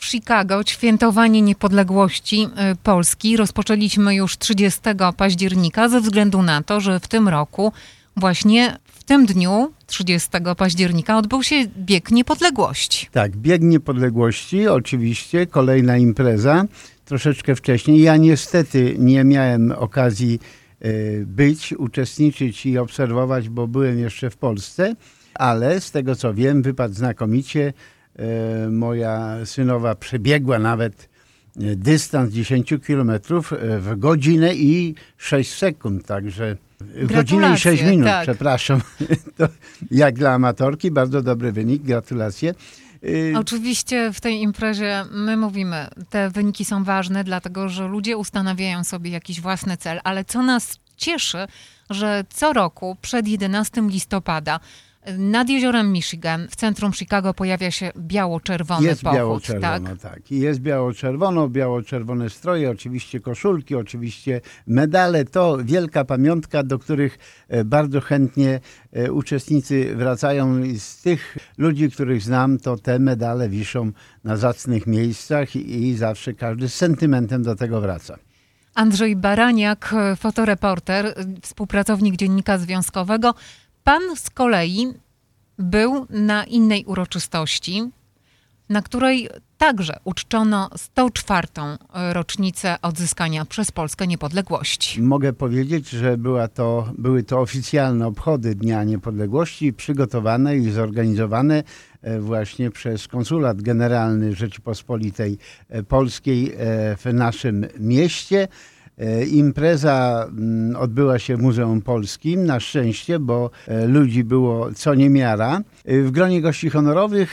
Chicago świętowanie niepodległości Polski rozpoczęliśmy już 30 października ze względu na to, że w tym roku właśnie w tym dniu 30 października odbył się Bieg Niepodległości. Tak, Bieg Niepodległości, oczywiście, kolejna impreza, troszeczkę wcześniej. Ja niestety nie miałem okazji uczestniczyć i obserwować, bo byłem jeszcze w Polsce, ale z tego co wiem, wypadł znakomicie. Moja synowa przebiegła nawet dystans 10 kilometrów w godzinę i 6 sekund, także godzinę i 6 minut, tak. Przepraszam. To jak dla amatorki, bardzo dobry wynik, gratulacje. Oczywiście w tej imprezie my mówimy, te wyniki są ważne, dlatego że ludzie ustanawiają sobie jakiś własny cel, ale co nas cieszy, że co roku przed 11 listopada nad jeziorem Michigan w centrum Chicago pojawia się biało-czerwony jest pochód. Biało-czerwono, tak. I jest biało-czerwono, biało-czerwone stroje, oczywiście koszulki, oczywiście medale. To wielka pamiątka, do których bardzo chętnie uczestnicy wracają. I z tych ludzi, których znam, to te medale wiszą na zacnych miejscach i zawsze każdy z sentymentem do tego wraca. Andrzej Baraniak, fotoreporter, współpracownik Dziennika Związkowego. Pan z kolei był na innej uroczystości, na której także uczczono 104. rocznicę odzyskania przez Polskę niepodległości. Mogę powiedzieć, że były to oficjalne obchody Dnia Niepodległości, przygotowane i zorganizowane właśnie przez Konsulat Generalny Rzeczypospolitej Polskiej w naszym mieście. Impreza odbyła się w Muzeum Polskim, na szczęście, bo ludzi było co niemiara. W gronie gości honorowych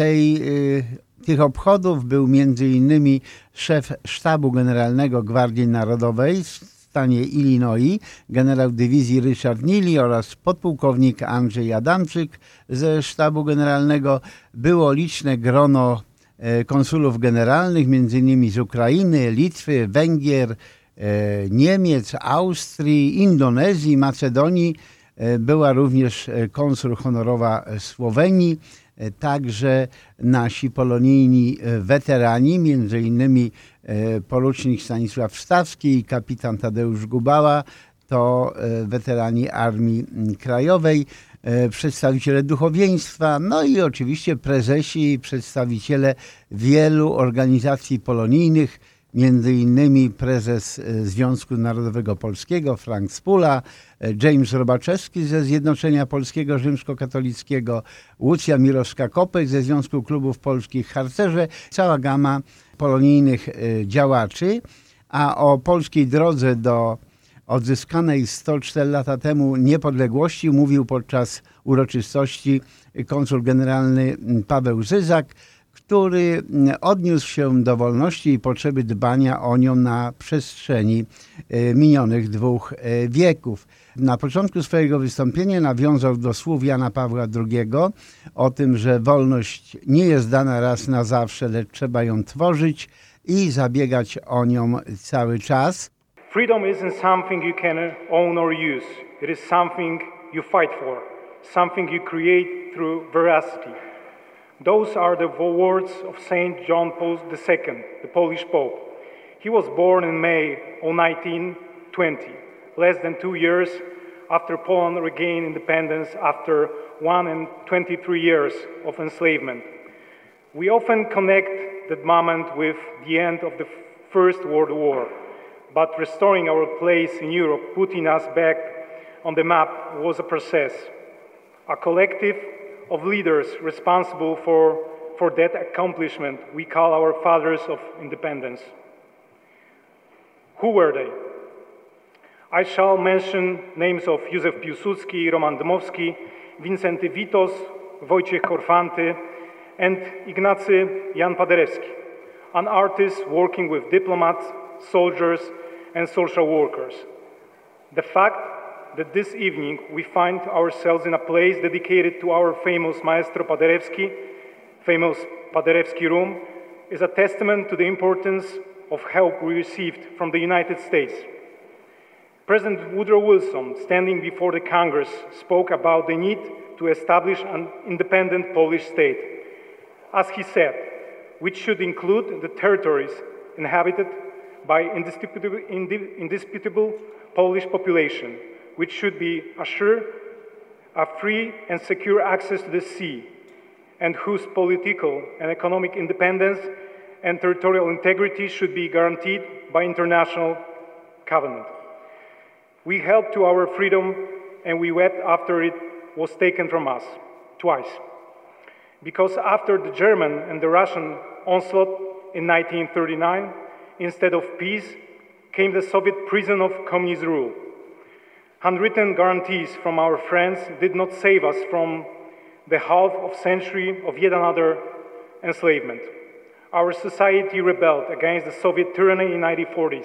tych obchodów był m.in. szef Sztabu Generalnego Gwardii Narodowej w stanie Illinois, generał dywizji Richard Neely oraz podpułkownik Andrzej Adamczyk ze Sztabu Generalnego. Było liczne grono konsulów generalnych, m.in. z Ukrainy, Litwy, Węgier, Niemiec, Austrii, Indonezji, Macedonii. Była również konsul honorowa Słowenii, także nasi polonijni weterani, między innymi porucznik Stanisław Stawski i kapitan Tadeusz Gubała, to weterani Armii Krajowej, przedstawiciele duchowieństwa, no i oczywiście prezesi i przedstawiciele wielu organizacji polonijnych, między innymi prezes Związku Narodowego Polskiego Frank Spula, James Robaczewski ze Zjednoczenia Polskiego Rzymskokatolickiego, Łucja Mirowska-Kopeć ze Związku Klubów Polskich, harcerze, cała gama polonijnych działaczy, a o polskiej drodze do odzyskanej 104 lata temu niepodległości mówił podczas uroczystości konsul generalny Paweł Zyzak, który odniósł się do wolności i potrzeby dbania o nią na przestrzeni minionych 2 wieków. Na początku swojego wystąpienia nawiązał do słów Jana Pawła II o tym, że wolność nie jest dana raz na zawsze, lecz trzeba ją tworzyć i zabiegać o nią cały czas. Freedom isn't something you can own or use. It is something you fight for, something you create through veracity. Those are the words of Saint John Paul II, the Polish Pope. He was born in May of 1920, less than 2 years after Poland regained independence after 123 years of enslavement. We often connect that moment with the end of the First World War, but restoring our place in Europe, putting us back on the map, was a process, a collective of leaders responsible for that accomplishment we call our fathers of independence. Who were they? I shall mention names of Józef Piłsudski, Roman Dmowski, Wincenty Witos, Wojciech Korfanty, and Ignacy Jan Paderewski, an artist working with diplomats, soldiers, and social workers. The fact that this evening we find ourselves in a place dedicated to our famous Maestro Paderewski, famous Paderewski Room, is a testament to the importance of help we received from the United States. President Woodrow Wilson, standing before the Congress, spoke about the need to establish an independent Polish state. As he said, which should include the territories inhabited by indisputable Polish population, which should be assured a free and secure access to the sea, and whose political and economic independence and territorial integrity should be guaranteed by international covenant. We held to our freedom and we wept after it was taken from us, twice. Because after the German and the Russian onslaught in 1939, instead of peace, came the Soviet prison of communist rule. Handwritten guarantees from our friends did not save us from the half of century of yet another enslavement. Our society rebelled against the Soviet tyranny in the 1940s.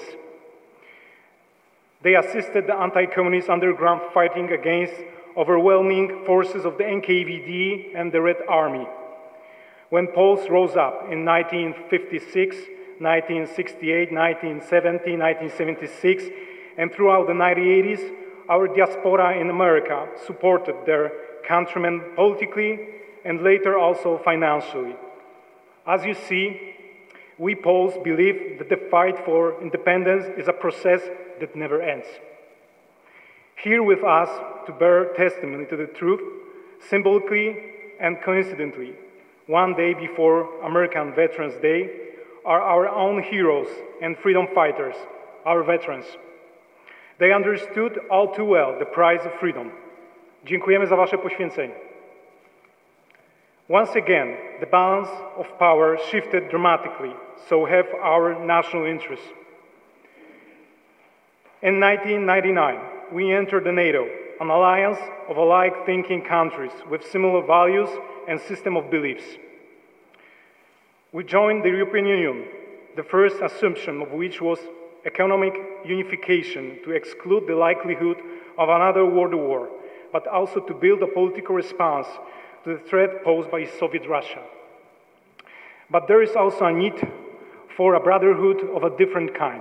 They assisted the anti-communist underground fighting against overwhelming forces of the NKVD and the Red Army. When Poles rose up in 1956, 1968, 1970, 1976, and throughout the 1980s, our diaspora in America supported their countrymen politically and later also financially. As you see, we Poles believe that the fight for independence is a process that never ends. Here with us to bear testimony to the truth, symbolically and coincidentally, one day before American Veterans Day, are our own heroes and freedom fighters, our veterans. They understood all too well the price of freedom. Dziękujemy za wasze poświęcenie. Once again, the balance of power shifted dramatically, so have our national interests. In 1999, we entered the NATO, an alliance of alike-thinking countries with similar values and system of beliefs. We joined the European Union, the first assumption of which was economic unification to exclude the likelihood of another world war, but also to build a political response to the threat posed by Soviet Russia. But there is also a need for a brotherhood of a different kind.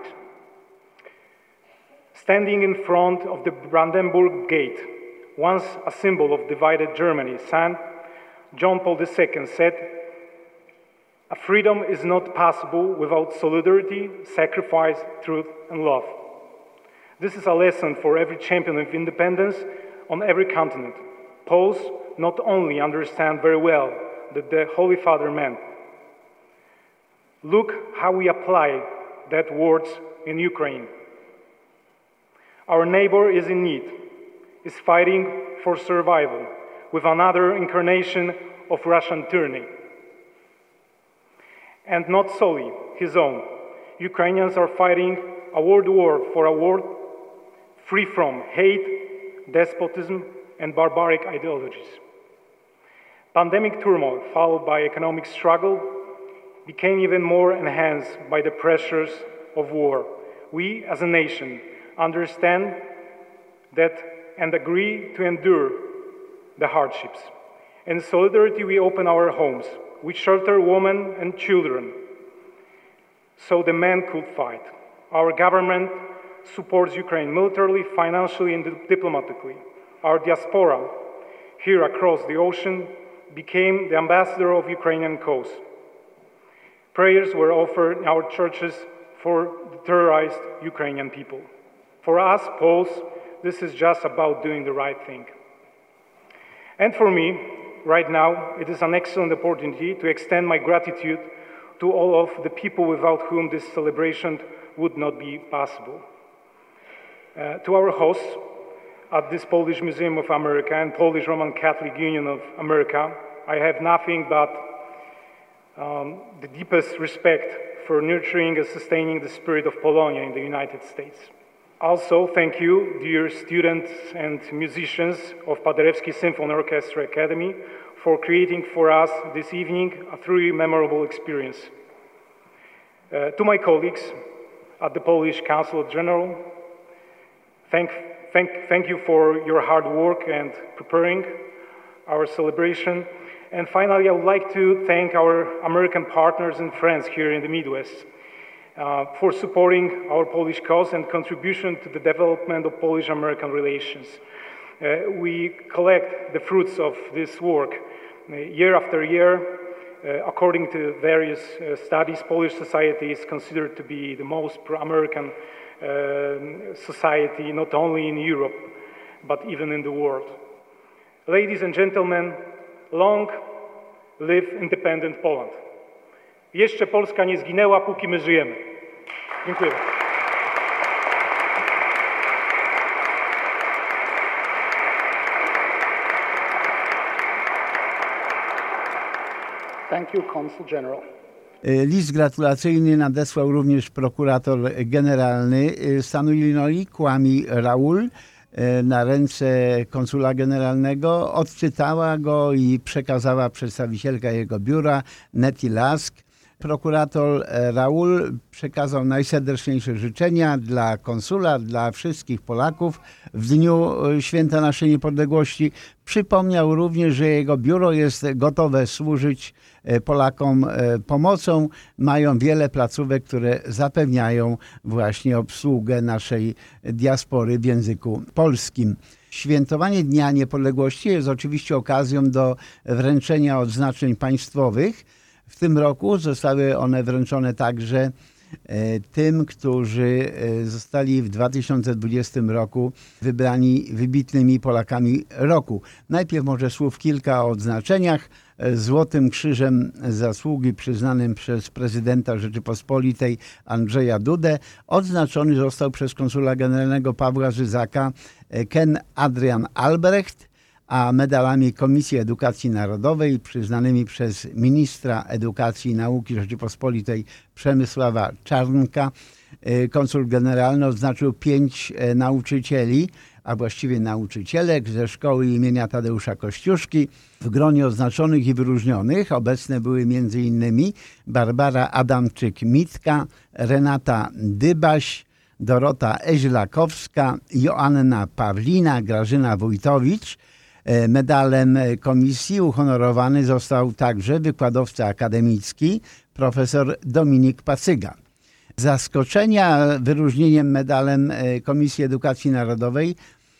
Standing in front of the Brandenburg Gate, once a symbol of divided Germany, St. John Paul II said, "A freedom is not possible without solidarity, sacrifice, truth, and love." This is a lesson for every champion of independence on every continent. Poles not only understand very well that the Holy Father meant. Look how we apply that words in Ukraine. Our neighbor is in need, is fighting for survival with another incarnation of Russian tyranny. And not solely his own. Ukrainians are fighting a world war for a world free from hate, despotism, and barbaric ideologies. Pandemic turmoil, followed by economic struggle, became even more enhanced by the pressures of war. We, as a nation, understand that and agree to endure the hardships. In solidarity, we open our homes. We shelter women and children so the men could fight. Our government supports Ukraine militarily, financially, and diplomatically. Our diaspora, here across the ocean, became the ambassador of Ukrainian cause. Prayers were offered in our churches for the terrorized Ukrainian people. For us, Poles, this is just about doing the right thing. And for me, right now, it is an excellent opportunity to extend my gratitude to all of the people without whom this celebration would not be possible. To our hosts at this Polish Museum of America and Polish Roman Catholic Union of America, I have nothing but the deepest respect for nurturing and sustaining the spirit of Polonia in the United States. Also, thank you, dear students and musicians of Paderewski Symphony Orchestra Academy, for creating for us this evening a truly memorable experience. To my colleagues at the Polish Council General, thank you for your hard work and preparing our celebration. And finally, I would like to thank our American partners and friends here in the Midwest for supporting our Polish cause and contribution to the development of Polish-American relations. We collect the fruits of this work year after year according to various studies, Polish society is considered to be the most pro-American society, not only in Europe, but even in the world. Ladies and gentlemen, long live independent Poland. Jeszcze Polska nie zginęła, póki my żyjemy. Dziękuję. Thank you, Consul General. List gratulacyjny nadesłał również prokurator generalny stanu Illinois, Kwame Raoul, na ręce konsula generalnego. Odczytała go i przekazała przedstawicielka jego biura, Nettie Lask. Prokurator Raoul przekazał najserdeczniejsze życzenia dla konsula, dla wszystkich Polaków w dniu Święta Naszej Niepodległości. Przypomniał również, że jego biuro jest gotowe służyć Polakom pomocą. Mają wiele placówek, które zapewniają właśnie obsługę naszej diaspory w języku polskim. Świętowanie Dnia Niepodległości jest oczywiście okazją do wręczenia odznaczeń państwowych. W tym roku zostały one wręczone także tym, którzy zostali w 2020 roku wybrani wybitnymi Polakami roku. Najpierw może słów kilka o odznaczeniach. Złotym Krzyżem Zasługi przyznanym przez prezydenta Rzeczypospolitej Andrzeja Dudę odznaczony został przez konsula generalnego Pawła Żyzaka Ken Adrian Albrecht, a medalami Komisji Edukacji Narodowej przyznanymi przez ministra Edukacji i Nauki Rzeczypospolitej Przemysława Czarnka konsul generalny odznaczył 5 nauczycieli, a właściwie nauczycielek ze szkoły imienia Tadeusza Kościuszki. W gronie odznaczonych i wyróżnionych obecne były m.in. Barbara Adamczyk-Mitka, Renata Dybaś, Dorota Eźlakowska, Joanna Pawlina, Grażyna Wójtowicz. Medalem komisji uhonorowany został także wykładowca akademicki profesor Dominik Pacyga. Zaskoczenia wyróżnieniem medalem Komisji Edukacji Narodowej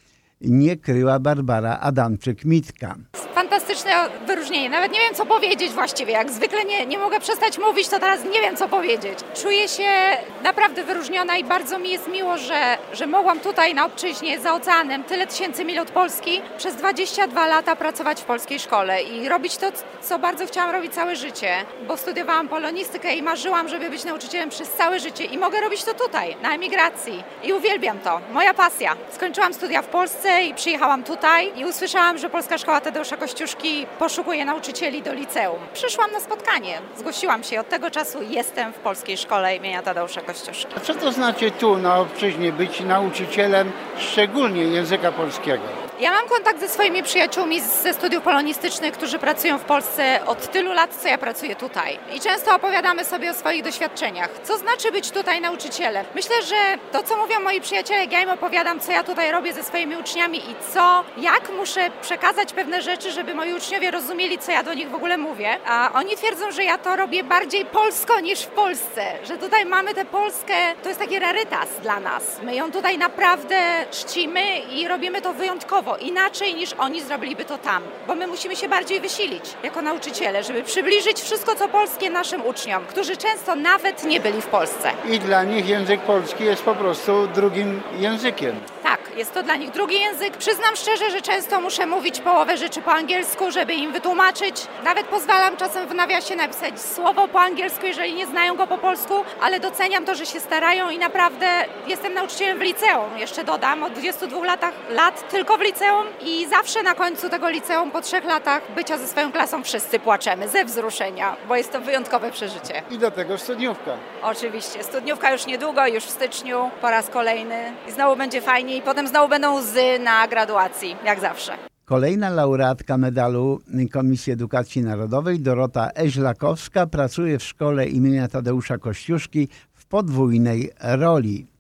nie kryła Barbara Adamczyk-Mitka. Fantastyczne wyróżnienie. Nawet nie wiem, co powiedzieć właściwie. Jak zwykle nie mogę przestać mówić, to teraz nie wiem, co powiedzieć. Czuję się naprawdę wyróżniona i bardzo mi jest miło, że mogłam tutaj na obczyźnie za oceanem, tyle tysięcy mil od Polski, przez 22 lata pracować w polskiej szkole i robić to, co bardzo chciałam robić całe życie, bo studiowałam polonistykę i marzyłam, żeby być nauczycielem przez całe życie i mogę robić to tutaj, na emigracji. I uwielbiam to. Moja pasja. Skończyłam studia w Polsce i przyjechałam tutaj i usłyszałam, że Polska Szkoła Tadeusza Kościuszki poszukuje nauczycieli do liceum. Przyszłam na spotkanie, zgłosiłam się. Od tego czasu jestem w Polskiej Szkole imienia Tadeusza Kościuszki. A co to znaczy tu na obczyźnie być nauczycielem, szczególnie języka polskiego? Ja mam kontakt ze swoimi przyjaciółmi ze studiów polonistycznych, którzy pracują w Polsce od tylu lat, co ja pracuję tutaj. I często opowiadamy sobie o swoich doświadczeniach. Co znaczy być tutaj nauczycielem? Myślę, że to, co mówią moi przyjaciele, jak ja im opowiadam, co ja tutaj robię ze swoimi uczniami i jak muszę przekazać pewne rzeczy, żeby moi uczniowie rozumieli, co ja do nich w ogóle mówię. A oni twierdzą, że ja to robię bardziej polsko niż w Polsce. Że tutaj mamy tę Polskę, to jest taki rarytas dla nas. My ją tutaj naprawdę czcimy i robimy to wyjątkowo. Inaczej niż oni zrobiliby to tam, bo my musimy się bardziej wysilić jako nauczyciele, żeby przybliżyć wszystko, co polskie naszym uczniom, którzy często nawet nie byli w Polsce. I dla nich język polski jest po prostu drugim językiem. Tak, jest to dla nich drugi język. Przyznam szczerze, że często muszę mówić połowę rzeczy po angielsku, żeby im wytłumaczyć. Nawet pozwalam czasem w nawiasie napisać słowo po angielsku, jeżeli nie znają go po polsku, ale doceniam to, że się starają i naprawdę jestem nauczycielem w liceum. Jeszcze dodam, od 22 lat tylko w liceum i zawsze na końcu tego liceum po 3 latach bycia ze swoją klasą wszyscy płaczemy ze wzruszenia, bo jest to wyjątkowe przeżycie. I do tego studniówka. Oczywiście, studniówka już niedługo, już w styczniu, po raz kolejny i znowu będzie fajnie i potem znowu będą łzy na graduacji, jak zawsze. Kolejna laureatka medalu Komisji Edukacji Narodowej, Dorota Eźlakowska, pracuje w szkole imienia Tadeusza Kościuszki w podwójnej roli.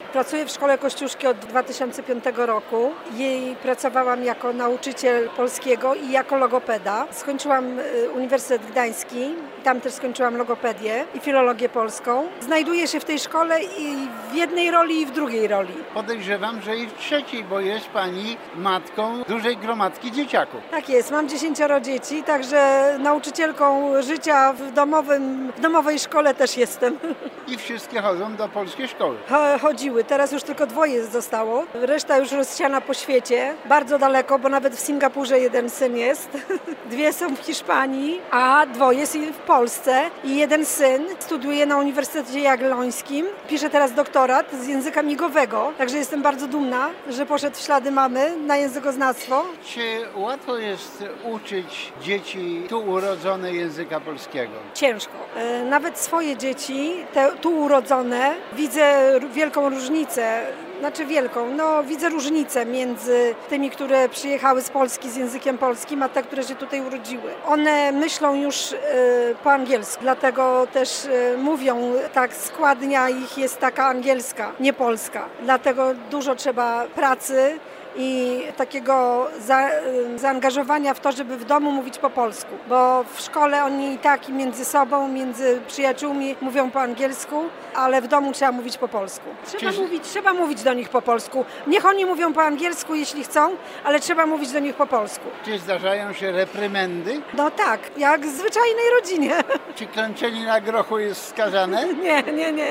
Pracuję w Szkole Kościuszki od 2005 roku. Pracowałam jako nauczyciel polskiego i jako logopeda. Skończyłam Uniwersytet Gdański, tam też skończyłam logopedię i filologię polską. Znajduję się w tej szkole i w jednej roli i w drugiej roli. Podejrzewam, że i w trzeciej, bo jest pani matką dużej gromadki dzieciaków. Tak jest, mam 10 dzieci, także nauczycielką życia w domowej szkole też jestem. I wszystkie chodzą do polskiej szkoły. Chodziły, teraz już tylko 2 zostało. Reszta już rozsiana po świecie, bardzo daleko, bo nawet w Singapurze jeden syn jest. 2 są w Hiszpanii, a 2 jest w Polsce. I jeden syn studiuje na Uniwersytecie Jagiellońskim. Pisze teraz doktorat z języka migowego, także jestem bardzo dumna, że poszedł w ślady mamy na językoznawstwo. Czy łatwo jest uczyć dzieci tu urodzone języka polskiego? Ciężko. Nawet swoje dzieci, te tu urodzone, widzę wielką różnicę. Widzę różnicę między tymi, które przyjechały z Polski z językiem polskim, a te, które się tutaj urodziły. One myślą już po angielsku, dlatego też mówią, tak składnia ich jest taka angielska, nie polska. Dlatego dużo trzeba pracy i takiego zaangażowania w to, żeby w domu mówić po polsku, bo w szkole oni i tak i między sobą, między przyjaciółmi mówią po angielsku, ale w domu trzeba mówić po polsku. Trzeba mówić do nich po polsku. Niech oni mówią po angielsku, jeśli chcą, ale trzeba mówić do nich po polsku. Czy zdarzają się reprymendy? No tak, jak w zwyczajnej rodzinie. Czy klęczenie na grochu jest skazane? Nie.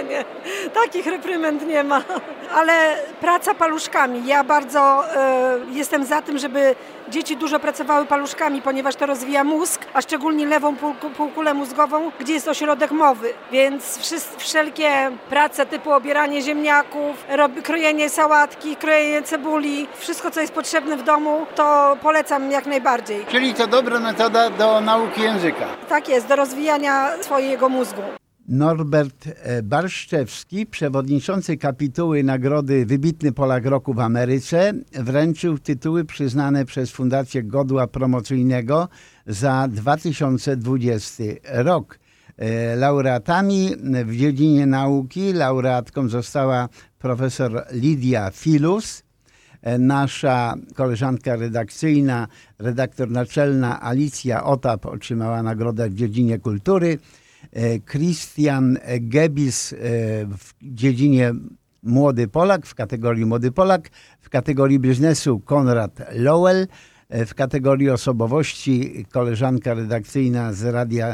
Takich reprymend nie ma. Ale praca paluszkami. Ja bardzo jestem za tym, żeby dzieci dużo pracowały paluszkami, ponieważ to rozwija mózg, a szczególnie lewą półkulę mózgową, gdzie jest ośrodek mowy. Więc wszelkie prace typu obieranie ziemniaków, krojenie sałatki, krojenie cebuli, wszystko co jest potrzebne w domu, to polecam jak najbardziej. Czyli to dobra metoda do nauki języka. Tak jest, do rozwijania swojego mózgu. Norbert Barszczewski, przewodniczący kapituły nagrody Wybitny Polak Roku w Ameryce, wręczył tytuły przyznane przez Fundację Godła Promocyjnego za 2020 rok. Laureatami w dziedzinie nauki laureatką została profesor Lidia Filus, nasza koleżanka redakcyjna, redaktor naczelna Alicja Otap otrzymała nagrodę w dziedzinie kultury, Christian Gebis w dziedzinie Młody Polak, w kategorii Młody Polak, w kategorii biznesu Konrad Lowell, w kategorii osobowości koleżanka redakcyjna z Radia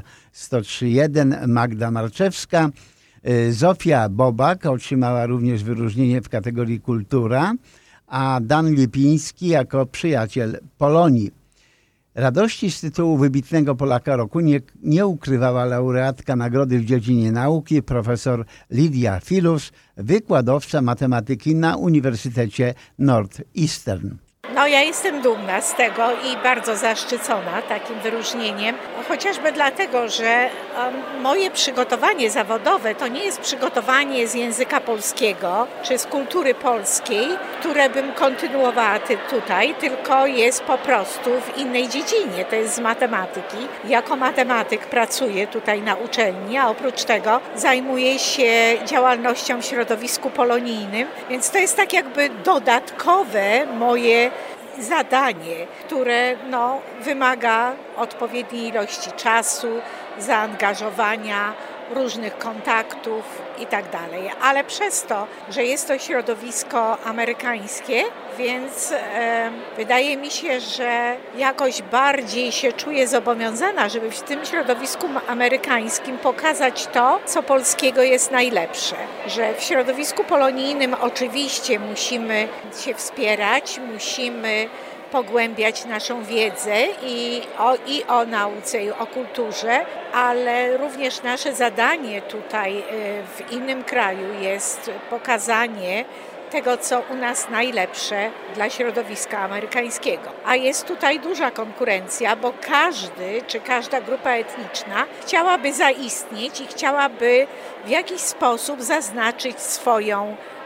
103.1 Magda Marczewska, Zofia Bobak otrzymała również wyróżnienie w kategorii kultura, a Dan Lipiński jako przyjaciel Polonii. Radości z tytułu Wybitnego Polaka Roku nie ukrywała laureatka nagrody w dziedzinie nauki profesor Lidia Filus, wykładowca matematyki na Uniwersytecie Northeastern. No ja jestem dumna z tego i bardzo zaszczycona takim wyróżnieniem, chociażby dlatego, że moje przygotowanie zawodowe to nie jest przygotowanie z języka polskiego czy z kultury polskiej, które bym kontynuowała tutaj, tylko jest po prostu w innej dziedzinie, to jest z matematyki. Jako matematyk pracuję tutaj na uczelni, a oprócz tego zajmuję się działalnością w środowisku polonijnym, więc to jest tak jakby dodatkowe moje zadanie, które wymaga odpowiedniej ilości czasu, zaangażowania, różnych kontaktów i tak dalej. Ale przez to, że jest to środowisko amerykańskie, więc wydaje mi się, że jakoś bardziej się czuję zobowiązana, żeby w tym środowisku amerykańskim pokazać to, co polskiego jest najlepsze. Że w środowisku polonijnym oczywiście musimy się wspierać, musimy pogłębiać naszą wiedzę i o nauce, i o kulturze, ale również nasze zadanie tutaj w innym kraju jest pokazanie tego, co u nas najlepsze dla środowiska amerykańskiego. A jest tutaj duża konkurencja, bo każdy czy każda grupa etniczna chciałaby zaistnieć i chciałaby w jakiś sposób zaznaczyć swoją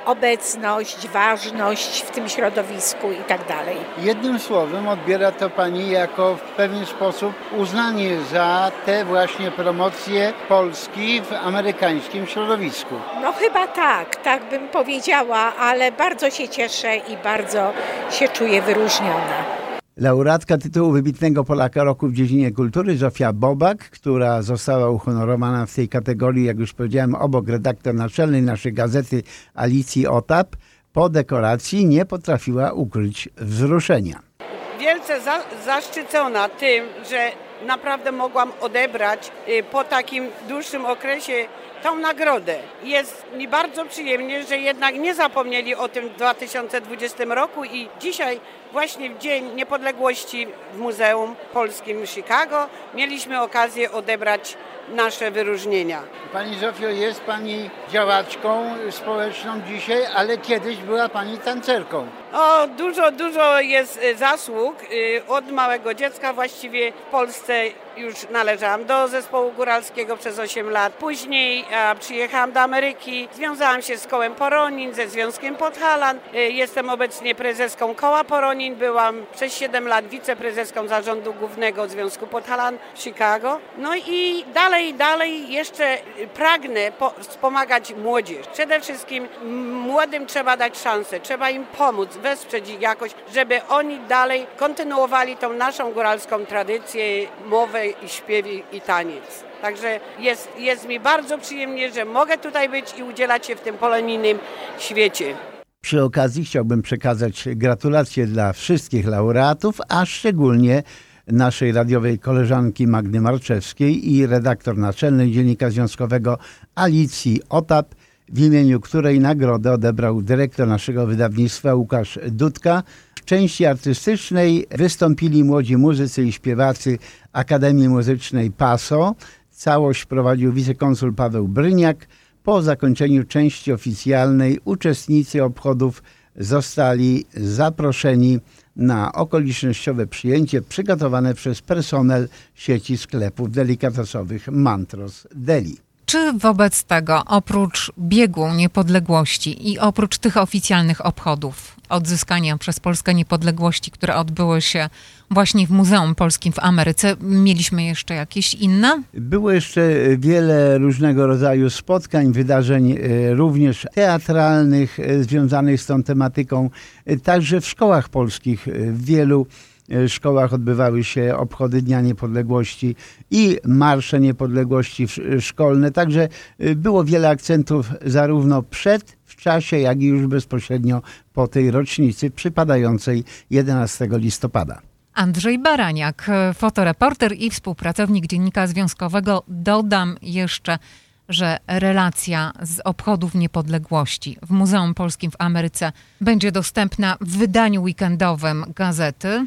obecność, ważność w tym środowisku i tak dalej. Jednym słowem odbiera to pani jako w pewien sposób uznanie za te właśnie promocje Polski w amerykańskim środowisku. No chyba tak bym powiedziała, ale bardzo się cieszę i bardzo się czuję wyróżniona. Laureatka tytułu wybitnego Polaka roku w dziedzinie kultury Zofia Bobak, która została uhonorowana w tej kategorii, jak już powiedziałem, obok redaktor naczelnej naszej gazety Alicji Otap, po dekoracji nie potrafiła ukryć wzruszenia. Wielce zaszczycona tym, że naprawdę mogłam odebrać po takim dłuższym okresie tą nagrodę. Jest mi bardzo przyjemnie, że jednak nie zapomnieli o tym w 2020 roku i dzisiaj właśnie w Dzień Niepodległości w Muzeum Polskim w Chicago mieliśmy okazję odebrać nasze wyróżnienia. Pani Zofio, jest pani działaczką społeczną dzisiaj, ale kiedyś była pani tancerką. O, dużo jest zasług. Od małego dziecka właściwie w Polsce już należałam do zespołu góralskiego przez 8 lat. Później przyjechałam do Ameryki, związałam się z kołem Poronin, ze Związkiem Podhalan. Jestem obecnie prezeską koła Poronin. Byłam przez 7 lat wiceprezeską zarządu głównego Związku Podhalan w Chicago. No i dalej jeszcze pragnę wspomagać młodzież. Przede wszystkim młodym trzeba dać szansę, trzeba im pomóc, wesprzeć ich jakoś, żeby oni dalej kontynuowali tą naszą góralską tradycję, mowę i śpiew i taniec. Także jest mi bardzo przyjemnie, że mogę tutaj być i udzielać się w tym polonijnym świecie. Przy okazji chciałbym przekazać gratulacje dla wszystkich laureatów, a szczególnie naszej radiowej koleżanki Magdy Marczewskiej i redaktor naczelnej Dziennika Związkowego Alicji Otap, w imieniu której nagrodę odebrał dyrektor naszego wydawnictwa Łukasz Dudka. W części artystycznej wystąpili młodzi muzycy i śpiewacy Akademii Muzycznej PASO. Całość prowadził wicekonsul Paweł Bryniak. Po zakończeniu części oficjalnej uczestnicy obchodów zostali zaproszeni na okolicznościowe przyjęcie przygotowane przez personel sieci sklepów delikatesowych Mantros Deli. Czy wobec tego, oprócz biegu niepodległości i oprócz tych oficjalnych obchodów odzyskania przez Polskę niepodległości, które odbyły się właśnie w Muzeum Polskim w Ameryce, mieliśmy jeszcze jakieś inne? Było jeszcze wiele różnego rodzaju spotkań, wydarzeń również teatralnych związanych z tą tematyką, także w szkołach polskich. W wielu szkołach odbywały się obchody Dnia Niepodległości i marsze niepodległości szkolne. Także było wiele akcentów zarówno w czasie, jak i już bezpośrednio po tej rocznicy przypadającej 11 listopada. Andrzej Baraniak, fotoreporter i współpracownik Dziennika Związkowego. Dodam jeszcze, że relacja z obchodów niepodległości w Muzeum Polskim w Ameryce będzie dostępna w wydaniu weekendowym gazety.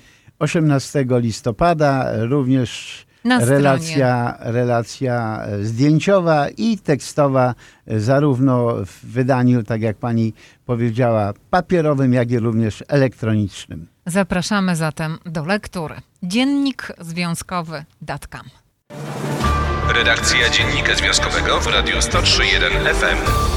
18 listopada również relacja zdjęciowa i tekstowa, zarówno w wydaniu, tak jak pani powiedziała, papierowym, jak i również elektronicznym. Zapraszamy zatem do lektury. Dziennikzwiązkowy.com. Redakcja Dziennika Związkowego w Radiu 103.1 FM.